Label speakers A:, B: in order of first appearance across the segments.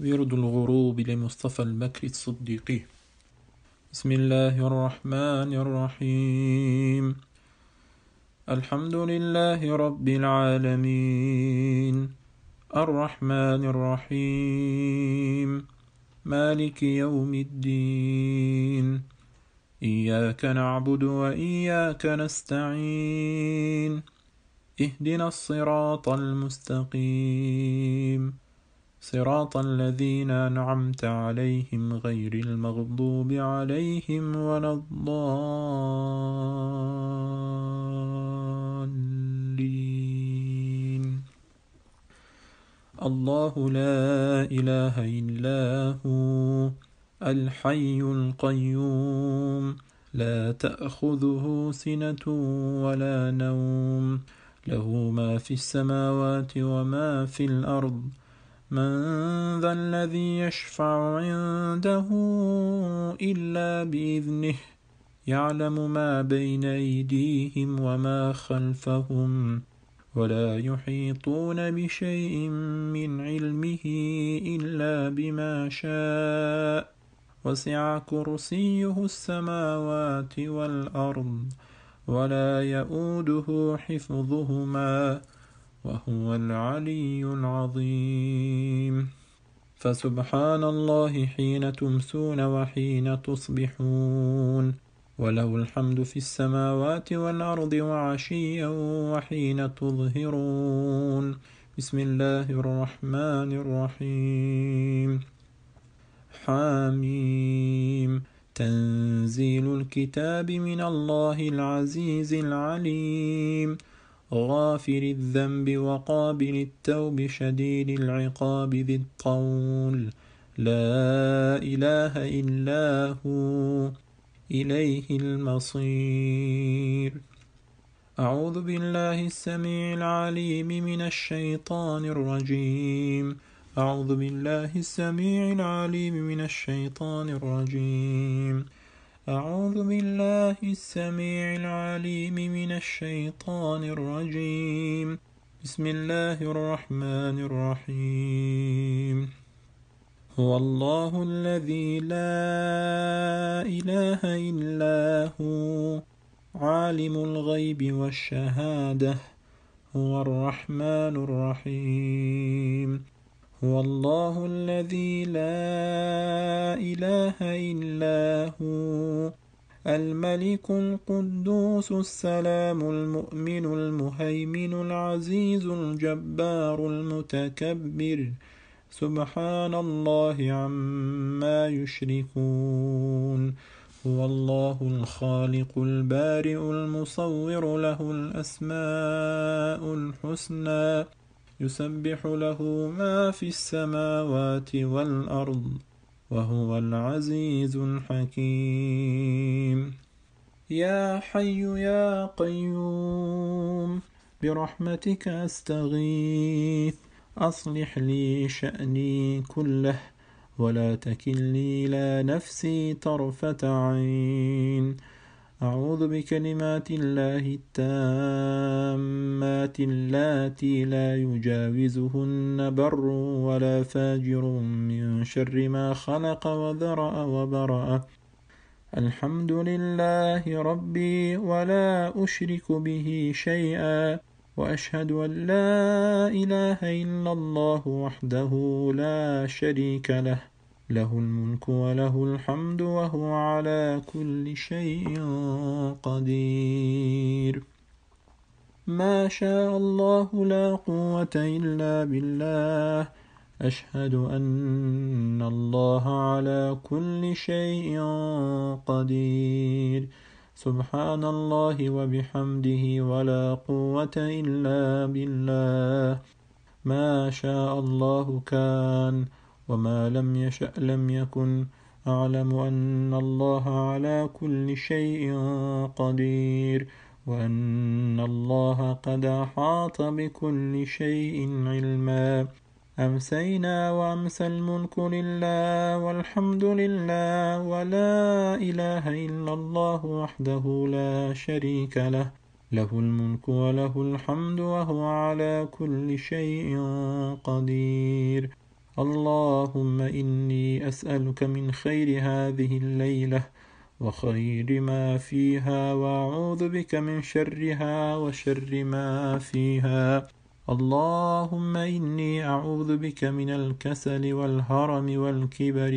A: ورد الغروب لمصطفى البكر الصديقي. بسم الله الرحمن الرحيم. الحمد لله رب العالمين، الرحمن الرحيم، مالك يوم الدين، إياك نعبد وإياك نستعين، اهدنا الصراط المستقيم، صراط الذين أنعمت عليهم غير المغضوب عليهم ولا الضالين. الله لا إله إلا هو الحي القيوم، لا تأخذه سنة ولا نوم، له ما في السماوات وما في الأرض. من ذا الذي يشفع عنده إلا بإذنه، يعلم ما بين أيديهم وما خلفهم، ولا يحيطون بشيء من علمه إلا بما شاء، وسع كرسيه السماوات والأرض، ولا يؤوده حفظهما، وهو العلي العظيم. فسبحان الله حين تمسون وحين تصبحون، وله الحمد في السماوات والأرض وعشيا وحين تظهرون. بسم الله الرحمن الرحيم. حاميم. تنزيل الكتاب من الله العزيز العليم، غافر الذنب وقابل التوب شديد العقاب ذي الطول، لا إله إلا هو إليه المصير. أعوذ بالله السميع العليم من الشيطان الرجيم. أعوذ بالله السميع العليم من الشيطان الرجيم. أعوذ بالله السميع العليم من الشيطان الرجيم. بسم الله الرحمن الرحيم. هو الله الذي لا إله إلا هو عالم الغيب والشهادة، هو الرحمن الرحيم. هو الله الذي لا إله إلا هو الملك القدوس السلام المؤمن المهيمن العزيز الجبار المتكبر، سبحان الله عما يشركون. هو الله الخالق البارئ المصور، له الأسماء الحسنى، يسبح له ما في السماوات والأرض، وهو العزيز الحكيم. يا حي يا قيوم برحمتك أستغيث، أصلح لي شأني كله، ولا تكلني إلى نفسي طرفة عين. أعوذ بكلمات الله التامات اللاتي لا يجاوزهن بر ولا فاجر من شر ما خلق وذرأ وبرأ. الحمد لله ربي ولا أشرك به شيئا، وأشهد أن لا إله إلا الله وحده لا شريك له، له الملك وله الحمد وهو على كل شيء قدير. ما شاء الله لا قوة إلا بالله. أشهد أن الله على كل شيء قدير. سبحان الله وبحمده ولا قوة إلا بالله. ما شاء الله كان، وما لم يشأ لم يكن. أعلم أن الله على كل شيء قدير، وأن الله قد أحاط بكل شيء علما. أمسينا وأمسى الملك لله والحمد لله ولا إله إلا الله وحده لا شريك له، له الملك وله الحمد وهو على كل شيء قدير. اللهم إني أسألك من خير هذه الليلة وخير ما فيها، وأعوذ بك من شرها وشر ما فيها. اللهم إني أعوذ بك من الكسل والهرم والكبر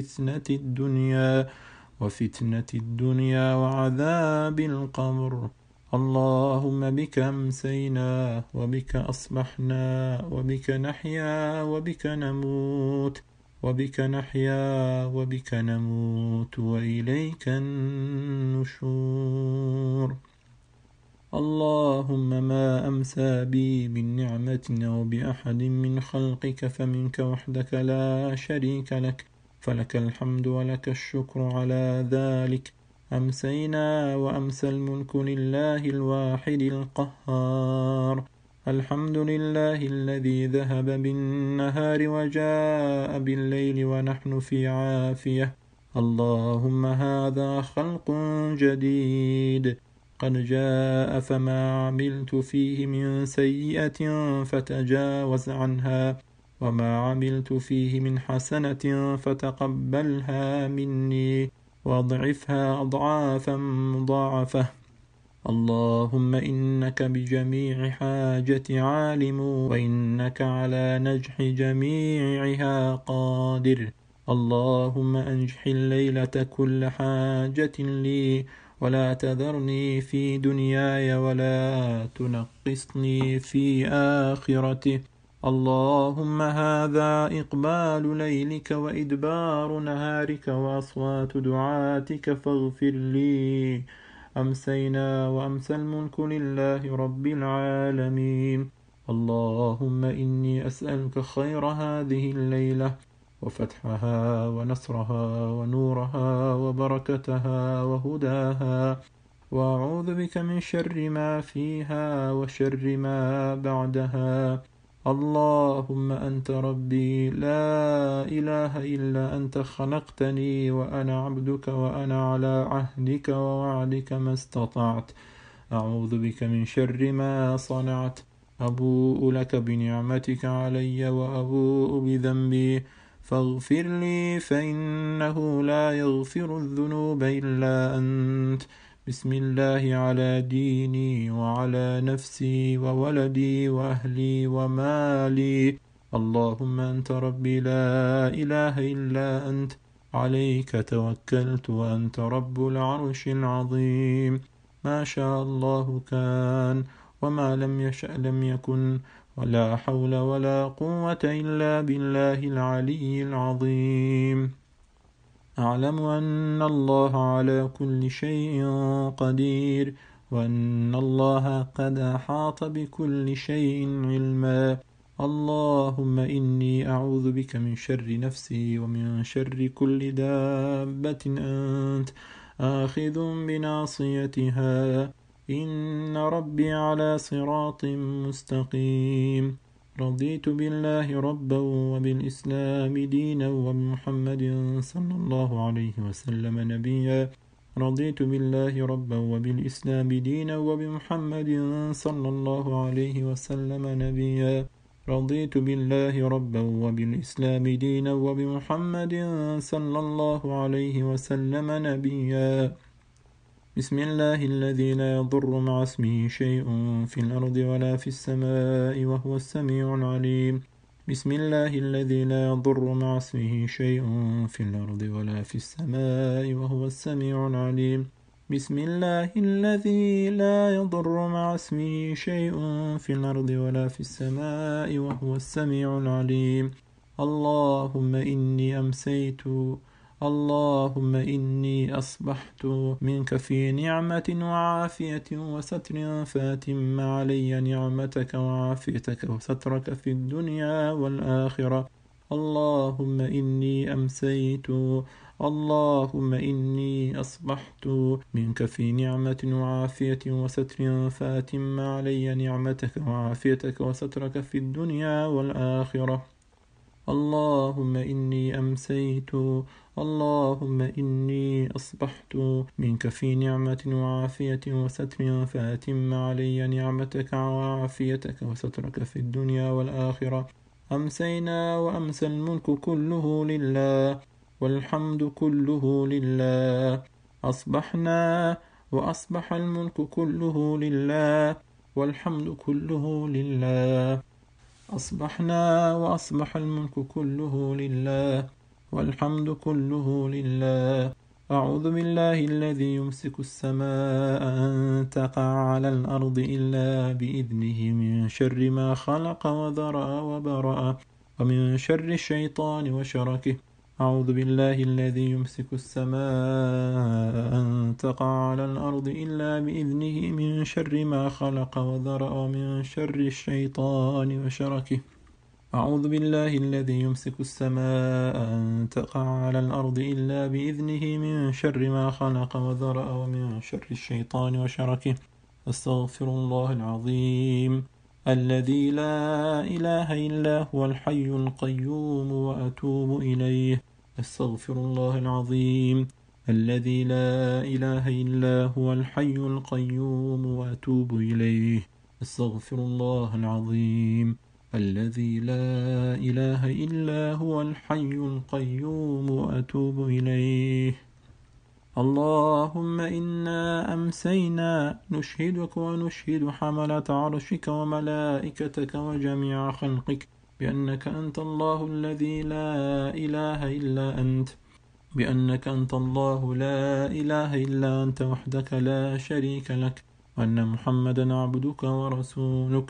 A: وفتنة الدنيا وعذاب القبر. اللهم بك أمسينا وبك أصبحنا وبك نحيا وبك نموت وإليك النشور. اللهم ما أمسى بي من نعمة أو بأحد من خلقك فمنك وحدك لا شريك لك، فلك الحمد ولك الشكر على ذلك. أمسينا وأمسى الملك لله الواحد القهار. الحمد لله الذي ذهب بالنهار وجاء بالليل ونحن في عافية. اللهم هذا خلق جديد قد جاء، فما عملت فيه من سيئة فتجاوز عنها، وما عملت فيه من حسنة فتقبلها مني واضعفها أضعافا مضاعفة. اللهم إنك بجميع حاجتي عالم، وإنك على نجح جميعها قادر. اللهم أنجح الليلة كل حاجة لي، ولا تذرني في دنياي ولا تنقصني في آخرته. اللهم هذا إقبال ليلك وإدبار نهارك وأصوات دعاتك فاغفر لي. أمسينا وأمسى الملك لله رب العالمين. اللهم إني أسألك خير هذه الليلة وفتحها ونصرها ونورها وبركتها وهداها، وأعوذ بك من شر ما فيها وشر ما بعدها. اللهم أنت ربي لا إله إلا أنت، خلقتني وأنا عبدك، وأنا على عهدك ووعدك ما استطعت. أعوذ بك من شر ما صنعت. أبوء لك بنعمتك علي وأبوء بذنبي، فاغفر لي فإنه لا يغفر الذنوب إلا أنت. بسم الله على ديني وعلى نفسي وولدي وأهلي ومالي. اللهم أنت ربي لا إله إلا أنت، عليك توكلت وأنت رب العرش العظيم. ما شاء الله كان، وما لم يشأ لم يكن، ولا حول ولا قوة إلا بالله العلي العظيم. أعلم أن الله على كل شيء قدير، وأن الله قد أحاط بكل شيء علما. اللهم إني أعوذ بك من شر نفسي ومن شر كل دابة أنت آخذ بناصيتها، إن ربي على صراط مستقيم. رضيت بالله ربا وبالإسلام دينا وبمحمد صلى الله عليه وسلم نبيا. رضيت بالله ربا وبالإسلام دينا وبمحمد صلى الله عليه وسلم نبيا. رضيت بالله ربا وبالإسلام دينا وبمحمد صلى الله عليه وسلم نبيا. بسم الله الذي لا يضر مع اسمه شيء في الأرض ولا في السماء وهو السميع العليم. بسم الله الذي لا يضر مع اسمه شيء في الأرض ولا في السماء وهو السميع العليم. بسم الله الذي لا يضر مع اسمه شيء في الأرض ولا في السماء وهو السميع العليم. اللهم إني أمسيت، اللهم إني أصبحت منك في نعمة وعافية وستر، فأتم علي نعمتك وعافيتك وسترك في الدنيا والآخرة. اللهم إني أمسيت، اللهم إني أصبحت منك في نعمة وعافية وستر، فأتم علي نعمتك وعافيتك وسترك في الدنيا والآخرة. اللهم إني أمسيت، اللهم إني أصبحت منك في نعمة وعافية وستر، فأتم علي نعمتك وعافيتك وسترك في الدنيا والآخرة. أمسينا وأمسى الملك كله لله والحمد كله لله. أصبحنا وأصبح الملك كله لله والحمد كله لله. أصبحنا وأصبح الملك كله لله والحمد كله لله. أعوذ بالله الذي يمسك السماء أن تقع على الأرض إلا بإذنه من شر ما خلق وذرأ وبرأ ومن شر الشيطان وشركه. أعوذ بالله الذي يمسك السماء أن تقع على الأرض إلا بإذنه من شر ما خلق وذرأ ومن شر الشيطان وشركه. أعوذ بالله الذي يمسك السماء أن تقع على الأرض إلا بإذنه من شر ما خلق وذرأ ومن شر الشيطان وشركه. أستغفر الله العظيم الذي لا إله إلا هو الحي القيوم وأتوب إليه. أستغفر الله العظيم الذي لا إله إلا هو الحي القيوم وأتوب إليه. أستغفر الله العظيم الذي لا إله إلا هو الحي القيوم وأتوب إليه. اللهم إنا أمسينا نشهدك ونشهد حملة عرشك وملائكتك وجميع خلقك بأنك أنت الله الذي لا إله إلا أنت، بأنك أنت الله لا إله إلا أنت وحدك لا شريك لك، وأن محمدا عبدك ورسولك.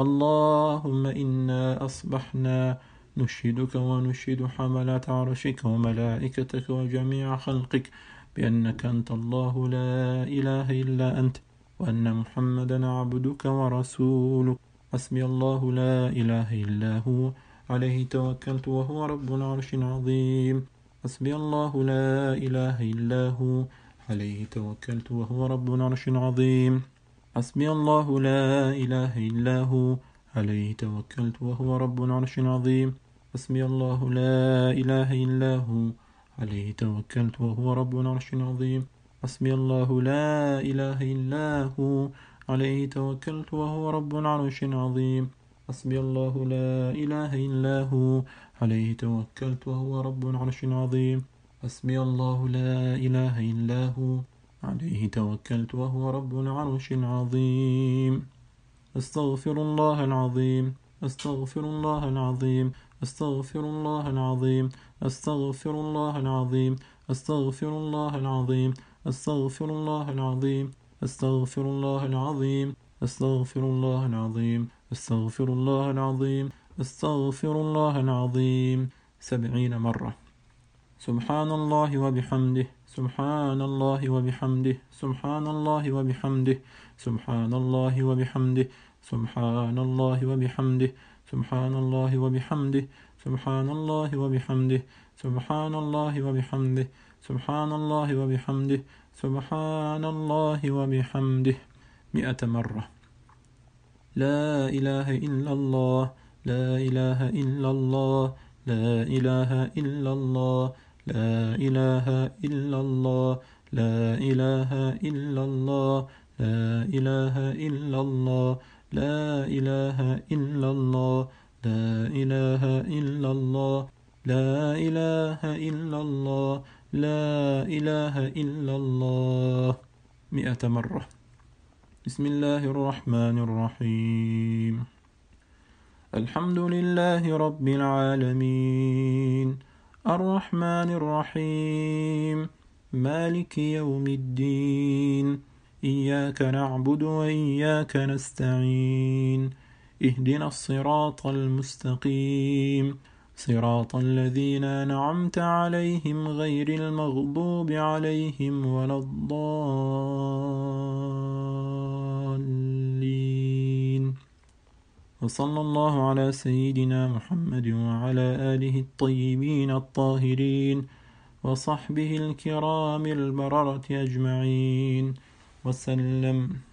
A: اللهم إنا أصبحنا نشهدك ونشهد حملة عرشك وملائكتك وجميع خلقك بأنك أنت الله لا إله إلا أنت، وأن محمدا عبدك ورسولك. حسبي الله لا إله إلا هو عليه توكلت وهو رب العرش العظيم. حسبي الله لا إله إلا هو عليه توكلت وهو رب العرش العظيم. حسبي الله لا إله إلا هو عليه توكلت وهو رب العرش العظيم. حسبي الله لا إله إلا هو عليه توكلت وهو رب العرش العظيم. حسبي الله لا إله إلا هو عليه توكلت وهو رب العرش العظيم. حسبي الله لا إله إلا هو عليه توكلت وهو رب العرش العظيم. حسبي الله لا إله إلا هو عليه توكلت وهو رب العرش العظيم. أستغفر الله العظيم. أستغفر الله العظيم. أستغفر الله العظيم. أستغفر الله العظيم. أستغفر الله العظيم. أستغفر الله العظيم. أستغفر الله العظيم. أستغفر الله العظيم. أستغفر الله العظيم. أستغفر الله العظيم 70 مرة. سبحان الله وبحمده. سبحان الله وبحمده. سبحان الله وبحمده. سبحان الله وبحمده. سبحان الله وبحمده. سبحان الله وبحمده. سبحان الله وبحمده. سبحان الله وبحمده. سبحان الله وبحمده. سبحان الله وبحمده 100 مرة. لا إله إلا الله. لا إله إلا الله. لا إله إلا الله. لا إله إلا الله. لا إله إلا الله. لا إله إلا الله. لا إله إلا الله. لا إله إلا الله. لا إله إلا الله. لا إله إلا الله 100 مرة. بسم الله الرحمن الرحيم. الحمد لله رب العالمين الرحمن الرحيم مالك يوم الدين إياك نعبد وإياك نستعين اهدنا الصراط المستقيم صراط الذين أنعمت عليهم غير المغضوب عليهم ولا الضالين. وصلى الله على سيدنا محمد وعلى آله الطيبين الطاهرين وصحبه الكرام البررة أجمعين وسلم.